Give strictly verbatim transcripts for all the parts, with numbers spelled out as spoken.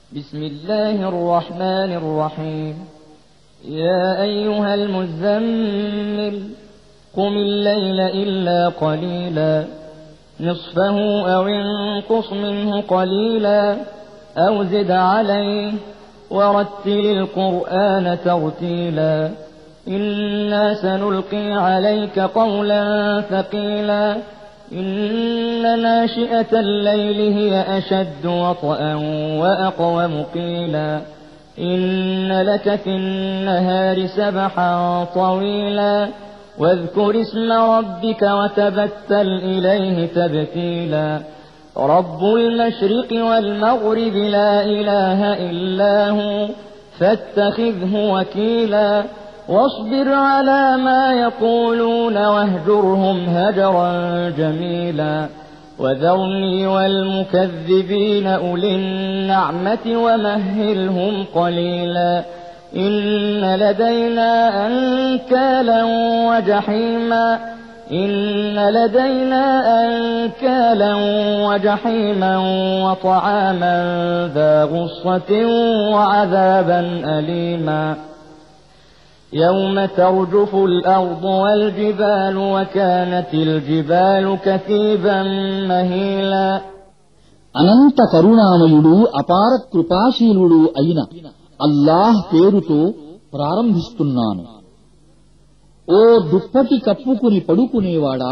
بسم الله الرحمن الرحيم يا أيها المزمل قم الليل إلا قليلا نصفه أو انقص منه قليلا أو زد عليه ورتل القرآن ترتيلا إنا سنلقي عليك قولا ثقيلا إن ناشئة الليل هي أشد وطئا وأقوم قيلا إن لك في النهار سبحا طويلا واذكر اسم ربك وتبتل إليه تبتيلا رب المشرق والمغرب لا إله إلا هو فاتخذه وكيلا واصبر على ما يقولون واهجرهم هجرا جميلا وذرني والمكذبين أولي النعمة ومهلهم قليلا إن لدينا أنكالا وجحيما إن لدينا أنكالا وجحيما وطعاما ذا غصة وعذابا أليما يوم ترجف الأرض والجبال وكانت الجبال كثيبا مهيلا అనంత కరుణామయుడు అపార కృపాశీలుడు అయిన అల్లాహ్ పేరుతో ప్రారంభిస్తున్నాను. ఓ దుప్పటి కప్పుకుని పడుకునేవాడా,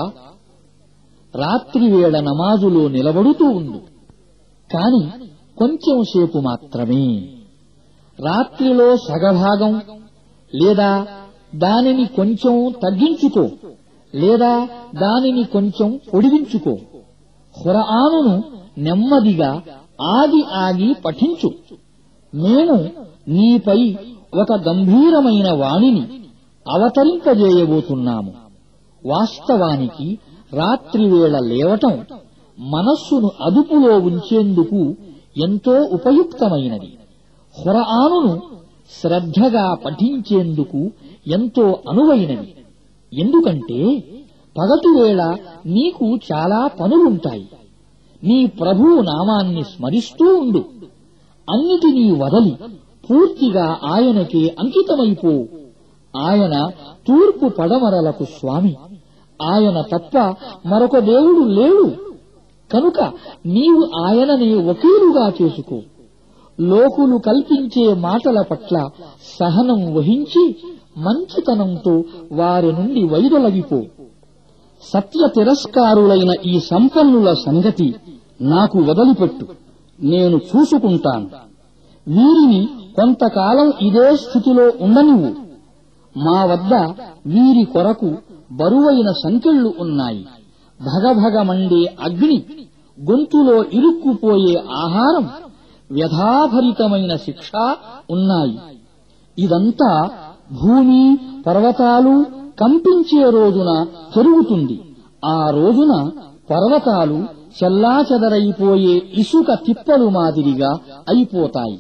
రాత్రివేళ నమాజులో నిలబడుతూ ఉండు, కాని కొంచెం సేపు మాత్రమే. రాత్రిలో సగభాగం లేదా దానిని కొంచెం తగ్గించుకో, లేదా దానిని కొంచెం పొడిగించుకో. ఖురానును నెమ్మదిగా ఆగి ఆగి పఠించు. మేము నీపై ఒక గంభీరమైన వాణిని అవతరింపజేయబోతున్నాము. వాస్తవానికి రాత్రివేళ లేవటం మనస్సును అదుపులో ఉంచేందుకు ఎంతో ఉపయుక్తమైనది. ఖురానును శ్రద్ధగా పఠించేందుకు ఎంతో అనువైనది. ఎందుకంటే పగటివేళ నీకు చాలా పనులుంటాయి. నీ ప్రభువు నామాన్ని స్మరిస్తూ ఉండు. అన్నిటినీ వదలి పూర్తిగా ఆయనకే అంకితమైపో. ఆయన తూర్పు పడమరలకు స్వామి. ఆయన తప్ప మరొక దేవుడు లేడు. కనుక నీవు ఆయననే వకీలుగా చేసుకో. లోకులు కల్పించే మాటల పట్ల సహనం వహించి మంచితనంతో వారి నుండి వైదొలగిపో. సత్య తిరస్కారులైన ఈ సంపన్నుల సంగతి నాకు వదిలిపెట్టు, నేను చూసుకుంటాను. వీరిని కొంతకాలం ఇదే స్థితిలో ఉండనివ్వు. మా వద్ద వీరి కొరకు బరువైన సంకెళ్లు ఉన్నాయి. భగభగ మండే అగ్ని, గొంతులో ఇరుక్కుపోయే ఆహారం, వ్యధాభరితమైన శిక్ష ఉన్నాయి. ఇదంతా భూమి పర్వతాలు కంపించే రోజున జరుగుతుంది. ఆ రోజున పర్వతాలు చెల్లాచెదరైపోయే ఇసుక తిప్పలు మాదిరిగా అయిపోతాయి.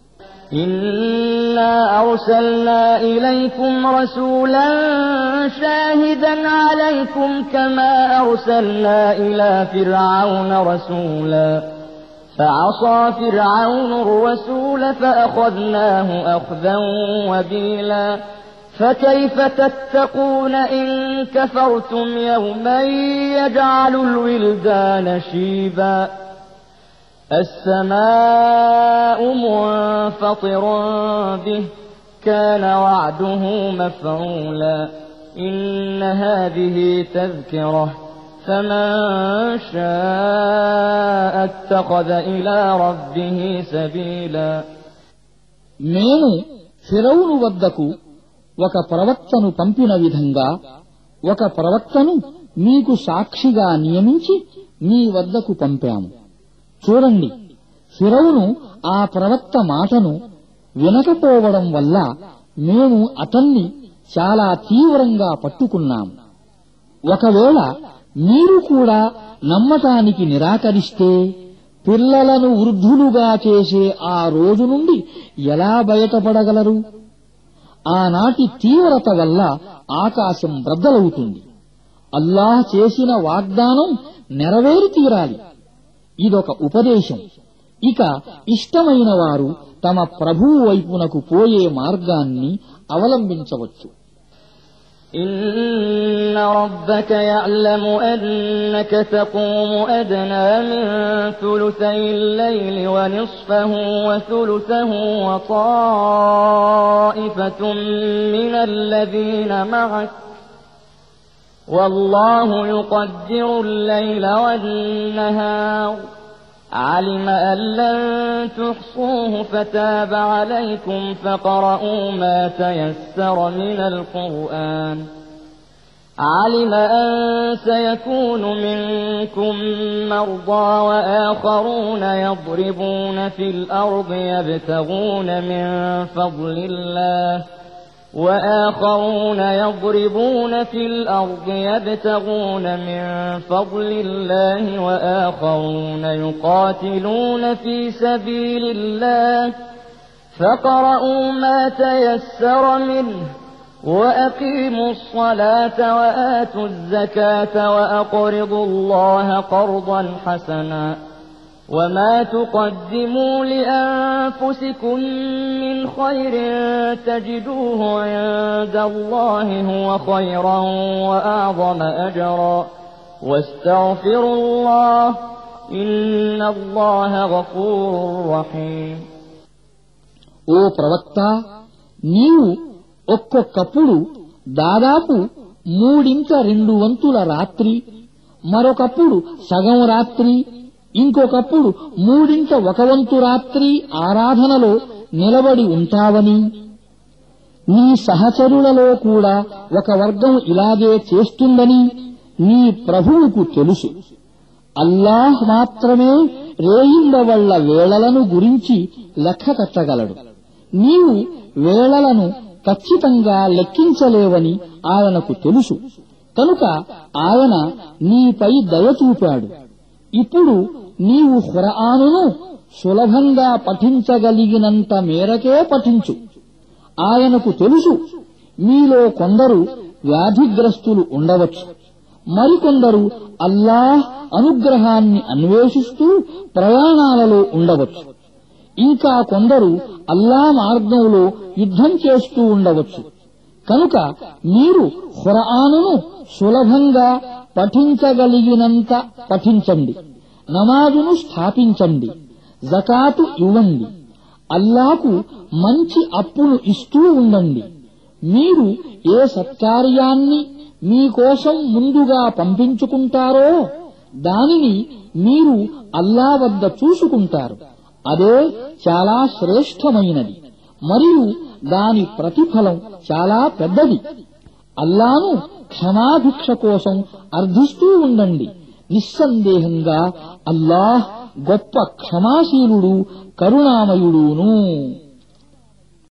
إنا أرسلنا إليكم رسولا شاهدا عليكم كما أرسلنا إلى فرعون رسولا فعصى فرعون الرسول فأخذناه أخذا وبيلا فكيف تتقون إن كفرتم يوما يجعل الولدان شيبا السماء منفطر به كان وعده مفعولا إن هذه تذكرة فمن شاء اتخذ إلى ربه سبيلا మేము ఫిరౌను వద్దకు ఒక ప్రవక్తను పంపిన విధంగా ఒక ప్రవక్తను మీకు సాక్షిగా నియమించి మీ వద్దకు పంపాము. చూడండి, ఫిరౌను ఆ ప్రవక్త మాటను వినకపోవడం వల్ల మేము అతన్ని చాలా తీవ్రంగా పట్టుకున్నాము. ఒకవేళ మీరు కూడా నమ్మటానికి నిరాకరిస్తే పిల్లలను వృద్ధులుగా చేసే ఆ రోజు నుండి ఎలా బయటపడగలరు? ఆనాటి తీవ్రత వల్ల ఆకాశం బ్రద్దలవుతుంది. అల్లాహ్ చేసిన వాగ్దానం నెరవేరి తీరాలి. ఇదొక ఉపదేశం. ఇక ఇష్టమైన వారు తమ ప్రభువు వైపునకు పోయే మార్గాన్ని అవలంబించవచ్చు. إن ربك يعلم أنك تقوم أدنى من ثلثي الليل ونصفه وثلثه وطائفة من الذين معك والله يقدر الليل والنهار علم أن لن تحصوه فتاب عليكم فاقرؤوا ما تيسر من القرآن علم أن سيكون منكم مرضى وآخرون يضربون في الأرض يبتغون من فضل الله وآخرون يضربون في الأرض يبتغون من فضل الله وآخرون يقاتلون في سبيل الله فاقرؤوا ما تيسر منه وأقيموا الصلاة وآتوا الزكاة وأقرضوا الله قرضا حسنا وما تقدموا لأنفسكم من خير تجدوه عند الله هو خيرا وأعظم أجرا واستغفروا الله إن الله غفور رحيم. ఓ ప్రవక్త, నీవు ఒక్కొక్కప్పుడు దాదాపు మూడింట రెండు వంతుల రాత్రి, మరొకప్పుడు సగం రాత్రి, ఇంకొకప్పుడు మూడింట ఒక వంతు రాత్రి ఆరాధనలో నిలబడి ఉంటావని, నీ సహచరులలో కూడా ఒక వర్గం ఇలాగే చేస్తుందని నీ ప్రభువుకు తెలుసు. అల్లాహ్ మాత్రమే రేయింబవళ్ల వేళలను గురించి లెక్క కట్టగలడు. నీవు వేళలను ఖచ్చితంగా లెక్కించలేవని ఆయనకు తెలుసు. కనుక ఆయన నీపై దయ చూపాడు. ఇప్పుడు నీవు ఖురానును సులభంగా పఠించగలిగినంత మేరకే పఠించు. ఆయనకు తెలుసు, మీలో కొందరు వ్యాధిగ్రస్తులు ఉండవచ్చు, మరికొందరు అల్లాహ్ అనుగ్రహాన్ని అన్వేషిస్తూ ప్రయాణాలలో ఉండవచ్చు, ఇంకా కొందరు అల్లా మార్గంలో యుద్ధం చేస్తూ ఉండవచ్చు. కనుక మీరు ఖురానును సులభంగా పఠించగలిగినంత పఠించండి, నమాజును స్థాపించండి, జకాతు ఇవ్వండి, అల్లాకు మంచి అప్పును ఇస్తూ ఉండండి. మీరు ఏ సత్కార్యాన్ని మీకోసం ముందుగా పంపించుకుంటారో దానిని మీరు అల్లా వద్ద చూసుకుంటారు. అదే చాలా శ్రేష్టమైనది మరియు దాని ప్రతిఫలం చాలా పెద్దది. అల్లాను క్షమాభిక్ష కోసం అర్థిస్తూ ఉండండి. నిస్సందేహంగా అల్లాహ్ గొప్ప క్షమాశీలుడు, కరుణామయుడును.